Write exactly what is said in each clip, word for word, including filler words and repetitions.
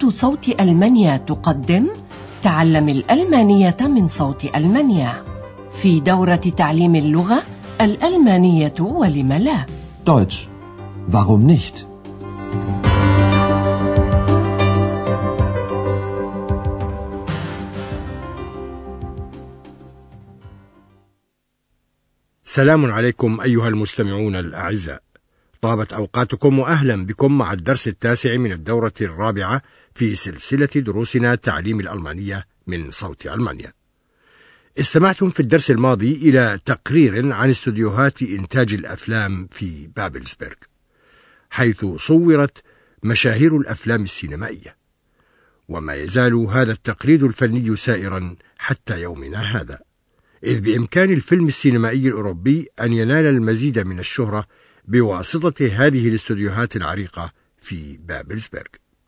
صوت ألمانيا تقدم تعلم الألمانية من صوت ألمانيا في دورة تعليم اللغة الألمانية ولم لا. Deutsch. Warum nicht? سلام عليكم أيها المستمعون الأعزاء، طابت أوقاتكم وأهلا بكم مع الدرس التاسع من الدورة الرابعة في سلسلة دروسنا تعليم الألمانية من صوت ألمانيا. استمعتم في الدرس الماضي إلى تقرير عن استوديوهات إنتاج الأفلام في بابلسبرغ، حيث صورت مشاهير الأفلام السينمائية، وما يزال هذا التقليد الفني سائرا حتى يومنا هذا، إذ بإمكان الفيلم السينمائي الأوروبي أن ينال المزيد من الشهرة بواسطة هذه الاستوديوهات العريقة في بابلسبرغ.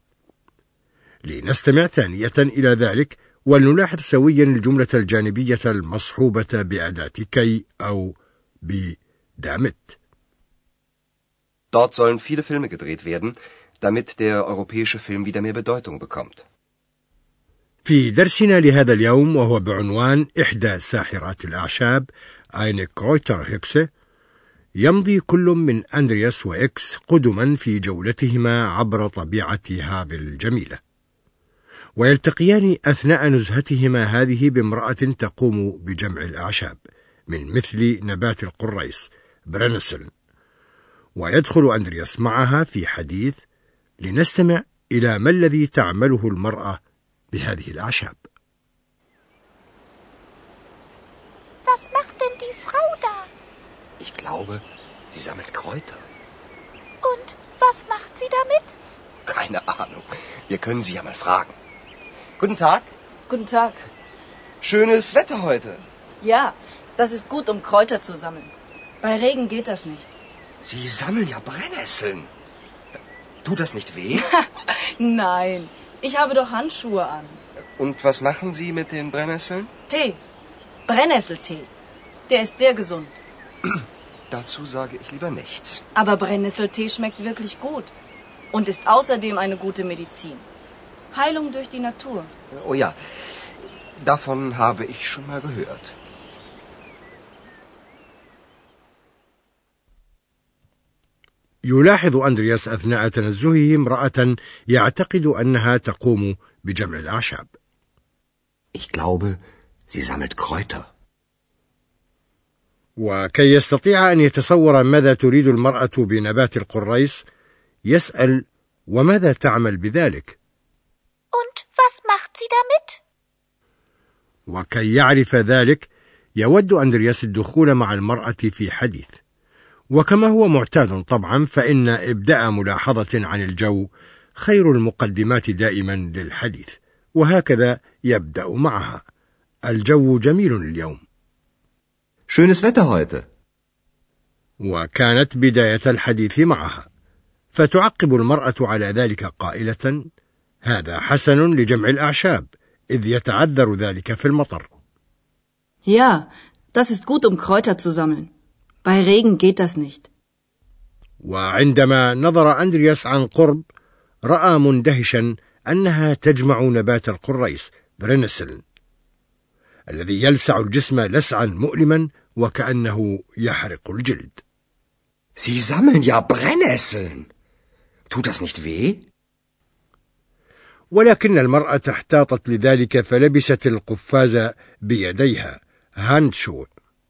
لنستمع ثانية إلى ذلك ولنلاحظ سويا الجملة الجانبية المصحوبة بأداة كي أو بدامت. Dort sollen viele Filme gedreht werden, damit der europäische Film wieder mehr Bedeutung bekommt. في درسنا لهذا اليوم وهو بعنوان إحدى ساحرات الأعشاب eine Kräuterhexe، يمضي كل من أندرياس وإكس قدما في جولتهما عبر طبيعة هافل الجميلة، ويلتقيان أثناء نزهتهما هذه بامرأة تقوم بجمع الأعشاب من مثل نبات القريص برينسل، ويدخل أندرياس معها في حديث. لنستمع إلى ما الذي تعمله المرأة بهذه الأعشاب. Was macht denn die Frau da? Ich glaube, sie sammelt Kräuter. Und was macht sie damit? Keine Ahnung. Wir können sie ja mal fragen. Guten Tag. Guten Tag. Schönes Wetter heute. Ja, das ist gut, um Kräuter zu sammeln. Bei Regen geht das nicht. Sie sammeln ja Brennnesseln. Tut das nicht weh? Nein, ich habe doch Handschuhe an. Und was machen Sie mit den Brennnesseln? Tee. Brennnesseltee. Der ist sehr gesund. Dazu sage ich lieber nichts. Aber Brennnesseltee schmeckt wirklich gut und ist außerdem eine gute Medizin. Heilung durch die Natur. Oh ja, davon habe ich schon mal gehört. يلاحظ أندرياس أثناء تنزهه امرأة يعتقد أنها تقوم بجمع الأعشاب. Ich glaube, sie sammelt Kräuter. وكي يستطيع أن يتصور ماذا تريد المرأة بنبات القريص، يسأل: وماذا تعمل بذلك؟ Und was macht sie damit? وكي يعرف ذلك يود أندرياس الدخول مع المرأة في حديث، وكما هو معتاد طبعا فإن إبداء ملاحظة عن الجو خير المقدمات دائما للحديث، وهكذا يبدأ معها: الجو جميل اليوم. Schönes Wetter heute. وكانت بداية الحديث معها، فتعقب المرأة على ذلك قائلة: هذا حسن لجمع الأعشاب، إذ يتعذر ذلك في المطر. Ja, das ist gut, um Kräuter zu sammeln. Bei Regen geht das nicht. وعندما نظر أندرياس عن قرب رأى مندهشا أنها تجمع نبات القريص برينسل الذي يلسع الجسم لسعا مؤلما وكأنه يحرق الجلد. Sie sammeln ja Brennnesseln. Tut das nicht weh? ولكن المرأة احتاطت لذلك فلبست القفاز بيديها هاندشو.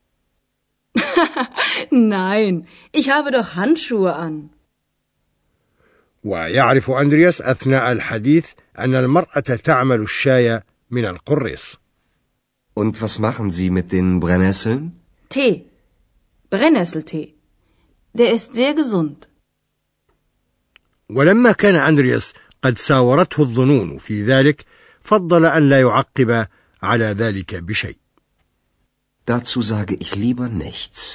Nein, ich habe doch Handschuhe an. ويعرف أندرياس أثناء الحديث أن المرأة تعمل الشاي من القريص. Und was machen Sie mit den Brennnesseln? Tee. Brennnesseltee. Der ist sehr gesund. ولما كان أندرياس قد ساورته الظنون في ذلك، فضل أن لا يعقب على ذلك بشيء. Dazu sage ich lieber nichts.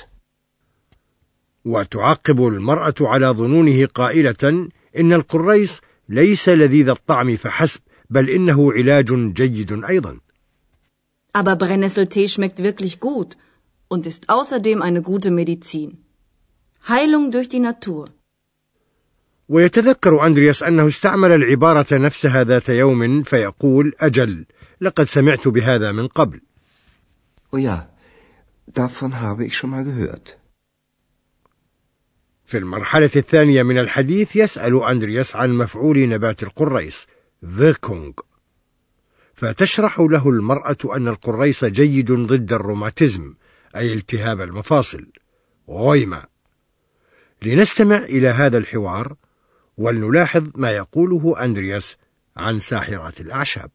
وتعقب المرأة على ظنونه قائلة: إن القريص ليس لذيذ الطعم فحسب، بل إنه علاج جيد أيضا. Aber Brennnesseltee schmeckt wirklich gut und ist außerdem eine gute Medizin. Heilung durch die Natur. ويتذكر أندرياس أنه استعمل العبارة نفسها ذات يوم فيقول أجل لقد سمعت بهذا من قبل. Oh ja, davon habe ich schon mal gehört. في المرحلة الثانية من الحديث يسأل أندرياس عن مفعول نبات القريص Wirkung، فتشرح له المرأة أن القريص جيد ضد الروماتيزم أي التهاب المفاصل غويما. لنستمع إلى هذا الحوار ولنلاحظ ما يقوله أندرياس عن ساحرات الأعشاب.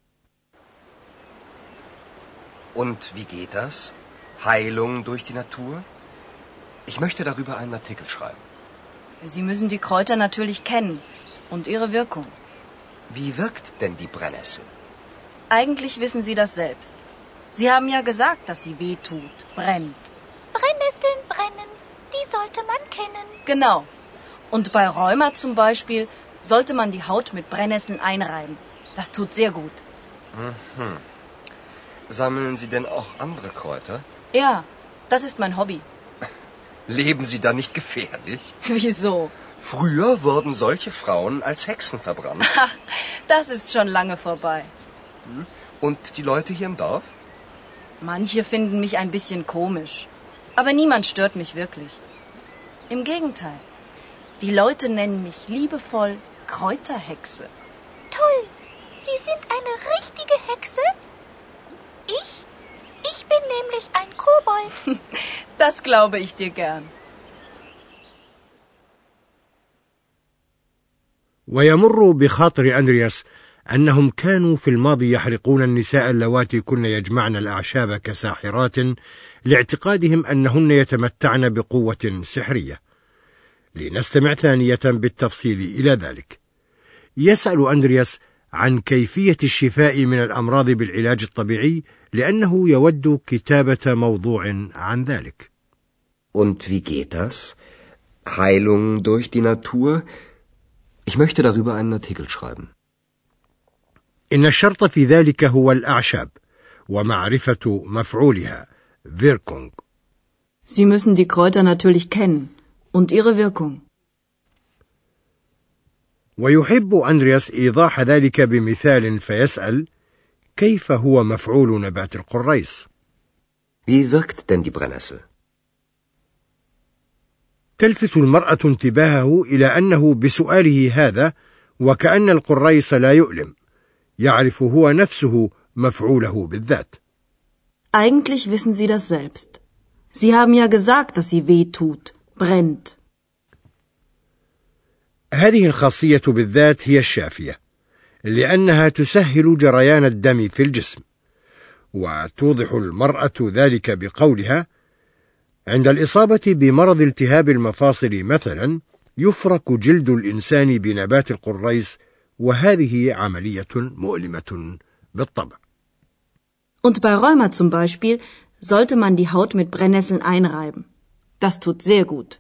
Und wie geht das? Heilung durch die Natur? Ich möchte darüber einen Artikel schreiben. Sie müssen die Kräuter natürlich kennen und ihre Wirkung. Wie wirkt denn die Brennnessel? Eigentlich wissen Sie das selbst. Sie haben ja gesagt, dass sie weh tut, brennt. Brennnesseln brennen, die sollte man kennen. Genau. Und bei Rheuma zum Beispiel sollte man die Haut mit Brennnesseln einreiben. Das tut sehr gut. Mhm. Sammeln Sie denn auch andere Kräuter? Ja, das ist mein Hobby. Leben Sie da nicht gefährlich? Wieso? Früher wurden solche Frauen als Hexen verbrannt. Ach, das ist schon lange vorbei. Und die Leute hier im Dorf? Manche finden mich ein bisschen komisch. Aber niemand stört mich wirklich. Im Gegenteil. Die Leute nennen mich liebevoll Kräuterhexe. Toll, Sie sind eine richtige Hexe? Ich? Ich bin nämlich ein Kobold. Das glaube ich dir gern. ويمر بخاطر أندرياس أنهم كانوا في الماضي يحرقون النساء اللواتي كن يجمعن الأعشاب كساحرات لاعتقادهم أنهن يتمتعن بقوة سحرية. لنستمع ثانية بالتفصيل إلى ذلك. يسأل أندرياس عن كيفية الشفاء من الأمراض بالعلاج الطبيعي لأنه يود كتابة موضوع عن ذلك. Und wie geht das? Heilung durch die Natur? Ich möchte darüber einen Artikel schreiben. إن الشرط في ذلك هو الأعشاب ومعرفة مفعولها Wirkung. Sie müssen die Kräuter natürlich kennen und ihre Wirkung. ويحب أندرياس إيضاح ذلك بمثال فيسأل كيف هو مفعول نبات القريص؟ Wie wirkt denn die Brennnessel? تلفت المرأة انتباهه إلى أنه بسؤاله هذا وكأن القريص لا يؤلم، يعرف هو نفسه مفعوله بالذات. Eigentlich wissen Sie das selbst. Sie haben ja gesagt, dass sie weh tut, brennt. هذه الخاصية بالذات هي الشافية، لأنها تسهل جريان الدم في الجسم، وتوضح المرأة ذلك بقولها: عند الإصابة بمرض التهاب المفاصل مثلا يفرك جلد الإنسان بنبات القريص، وهذه عملية مؤلمة بالطبع. Und bei Rheuma zum Beispiel sollte man die Haut mit Brennnesseln einreiben. Das tut sehr gut.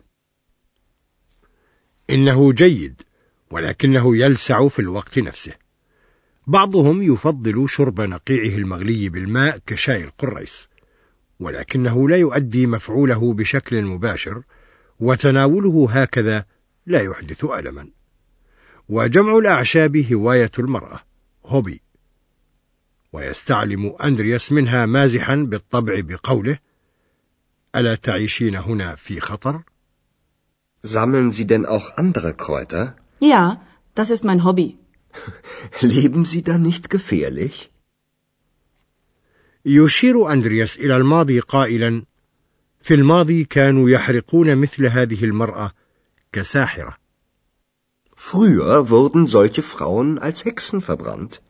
إنه جيد، ولكنه يلسع في الوقت نفسه. بعضهم يفضل شرب نقيعه المغلي بالماء كشاي القريص، ولكنه لا يؤدي مفعوله بشكل مباشر، وتناوله هكذا لا يحدث ألما. وجمع الأعشاب هواية المرأة، هوبي. ويستعلم أندرياس منها مازحا بالطبع بقوله: ألا تعيشين هنا في خطر؟ Sammeln Sie denn auch andere Kräuter? Ja, das ist mein Hobby. Leben Sie da nicht gefährlich? يشير أندرياس إلى الماضي قائلا: في الماضي كانوا يحرقون مثل هذه المرأة كساحرة. Früher wurden solche Frauen als Hexen verbrannt.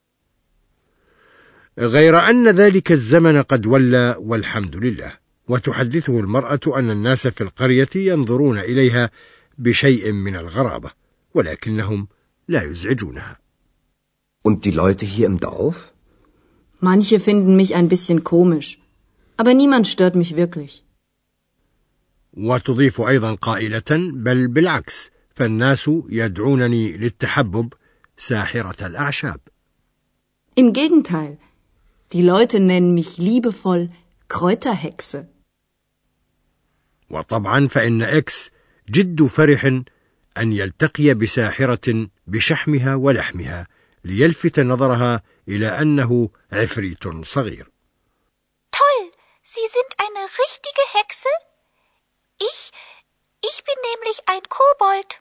غير أن ذلك الزمن قد ولى والحمد لله، وتحدثه المرأة أن الناس في القرية ينظرون إليها بشيء من الغرابة، ولكنهم لا يزعجونها. Und die Leute hier im Dorf? Manche finden mich ein bisschen komisch, aber niemand stört mich wirklich. وتضيف أيضا قائلة: بل بالعكس، فالناس يدعونني للتحبب ساحرة الأعشاب. Im Gegenteil, die Leute nennen mich liebevoll Kräuterhexe. وطبعا فإن إكس جد فرح أن يلتقي بساحرة بشحمها ولحمها ليلفت نظرها إلى أنه عفريت صغير. Toll, Sie sind eine richtige Hexe? Ich, ich bin nämlich ein Kobold.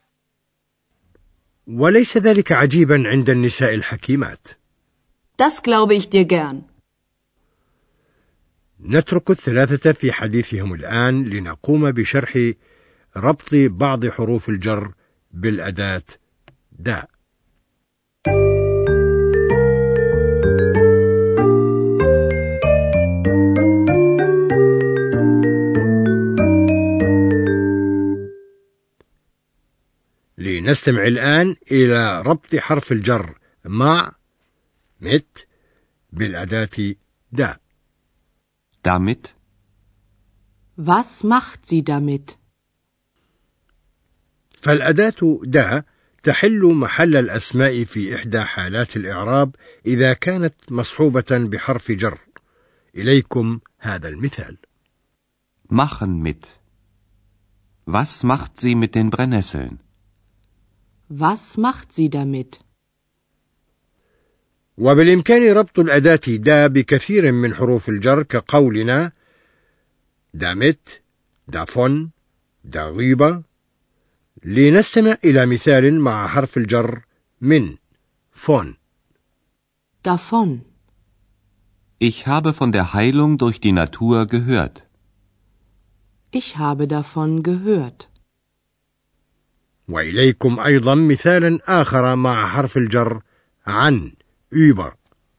وليس ذلك عجيبا عند النساء الحكيمات. Das glaube ich dir gern. نترك الثلاثة في حديثهم الآن لنقوم بشرح ربط بعض حروف الجر بالأداة دا. لنستمع الآن إلى ربط حرف الجر مع mit بالأداة دا. Damit. Was macht sie damit? فالأداة دا تحل محل الأسماء في إحدى حالات الإعراب إذا كانت مصحوبة بحرف جر. إليكم هذا المثال. Machen mit. Was macht sie mit den Brennnesseln? Was macht sie damit? وبالإمكان ربط الأداة دا بكثير من حروف الجر كقولنا damit, davon, darüber. لنستمع إلى مثال مع حرف الجر من von. Davon. Ich habe von der Heilung durch die Natur gehört. Ich habe davon gehört. وإليكم أيضا مثالا آخر مع حرف الجر عن über.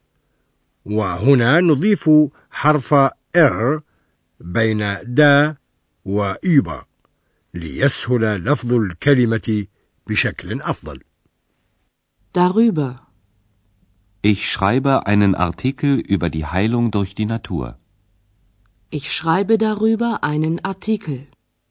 وهنا نضيف حرف R بين دا و über ليسهل لفظ الكلمة بشكل أفضل. Darüber. Ich schreibe einen Artikel über die Heilung durch die Natur. Ich schreibe darüber einen Artikel.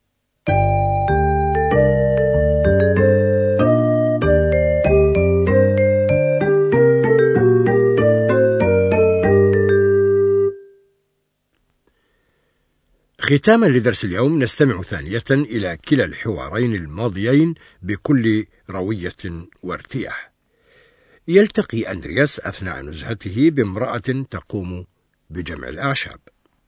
ختاما لدرس اليوم نستمع ثانية إلى كلا الحوارين الماضيين بكل روية وارتياح. يلتقي أندرياس أثناء نزهته بامرأة تقوم بجمع الأعشاب.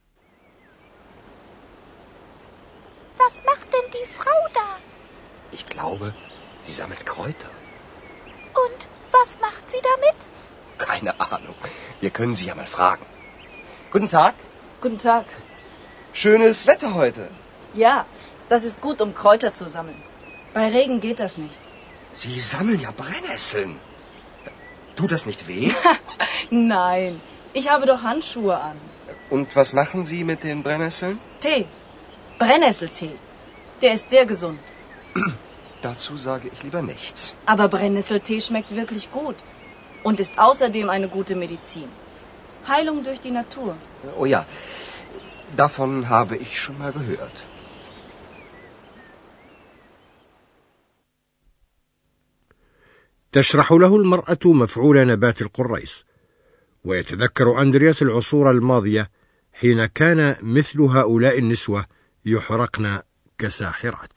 Was macht denn die Frau da? Ich glaube, sie sammelt Kräuter. Und was macht sie damit? Keine Ahnung. Wir können sie ja mal fragen. Guten Tag. Guten Tag. Schönes Wetter heute. Ja, das ist gut, um Kräuter zu sammeln. Bei Regen geht das nicht. Sie sammeln ja Brennnesseln. Tut das nicht weh? Nein, ich habe doch Handschuhe an. Und was machen Sie mit den Brennnesseln? Tee. Brennnesseltee. Der ist sehr gesund. Dazu sage ich lieber nichts. Aber Brennnesseltee schmeckt wirklich gut und ist außerdem eine gute Medizin. Heilung durch die Natur. Oh ja, davon habe ich schon mal gehört. تشرح له المرأة مفعول نبات القريص، ويتذكر أندرياس العصور الماضية حين كان مثل هؤلاء النسوة يحرقن كساحرات.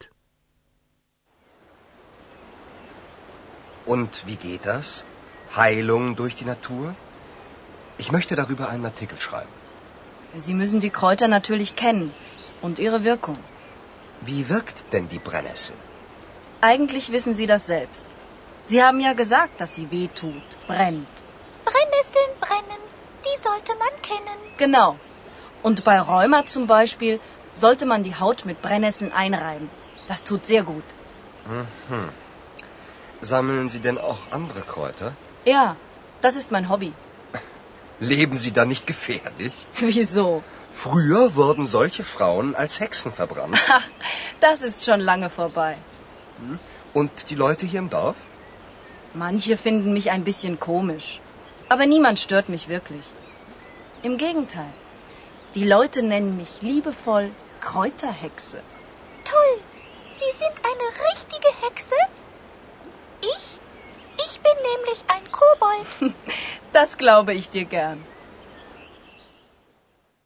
Und wie geht das? Heilung durch die Natur? Ich möchte darüber einen Artikel schreiben. Sie müssen die Kräuter natürlich kennen und ihre Wirkung. Wie wirkt denn die Brennnessel? Eigentlich wissen Sie das selbst. Sie haben ja gesagt, dass sie weh tut, brennt. Brennnesseln brennen, die sollte man kennen. Genau. Und bei Rheuma zum Beispiel sollte man die Haut mit Brennnesseln einreiben. Das tut sehr gut. Mhm. Sammeln Sie denn auch andere Kräuter? Ja, das ist mein Hobby. Leben Sie da nicht gefährlich? Wieso? Früher wurden solche Frauen als Hexen verbrannt. Das ist schon lange vorbei. Und die Leute hier im Dorf? Manche finden mich ein bisschen komisch. Aber niemand stört mich wirklich. Im Gegenteil. Die Leute nennen mich liebevoll Kräuterhexe. Toll! Sie sind eine richtige Hexe? Ich? Ich bin nämlich ein Kobold. Das glaube ich dir gern.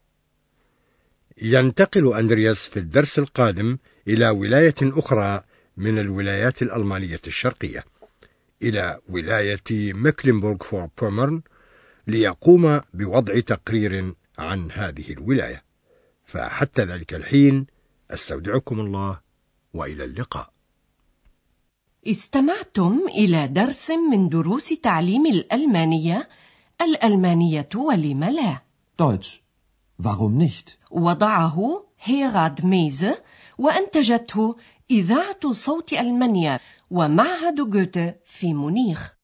ينتقل أندرياس في الدرس القادم إلى ولاية أخرى من الولايات الألمانية الشرقية إلى ولاية مكلنبورغ فور بومرن ليقوم بوضع تقرير عن هذه الولاية. فحتى ذلك الحين أستودعكم الله وإلى اللقاء. استمعتم إلى درس من دروس تعليم الألمانية. الألمانية ولم لا؟ Deutsch. Warum nicht? وضعه هيراد ميزه وأنتجته إذاعة صوت ألمانيا ومعهد جوته في مونيخ.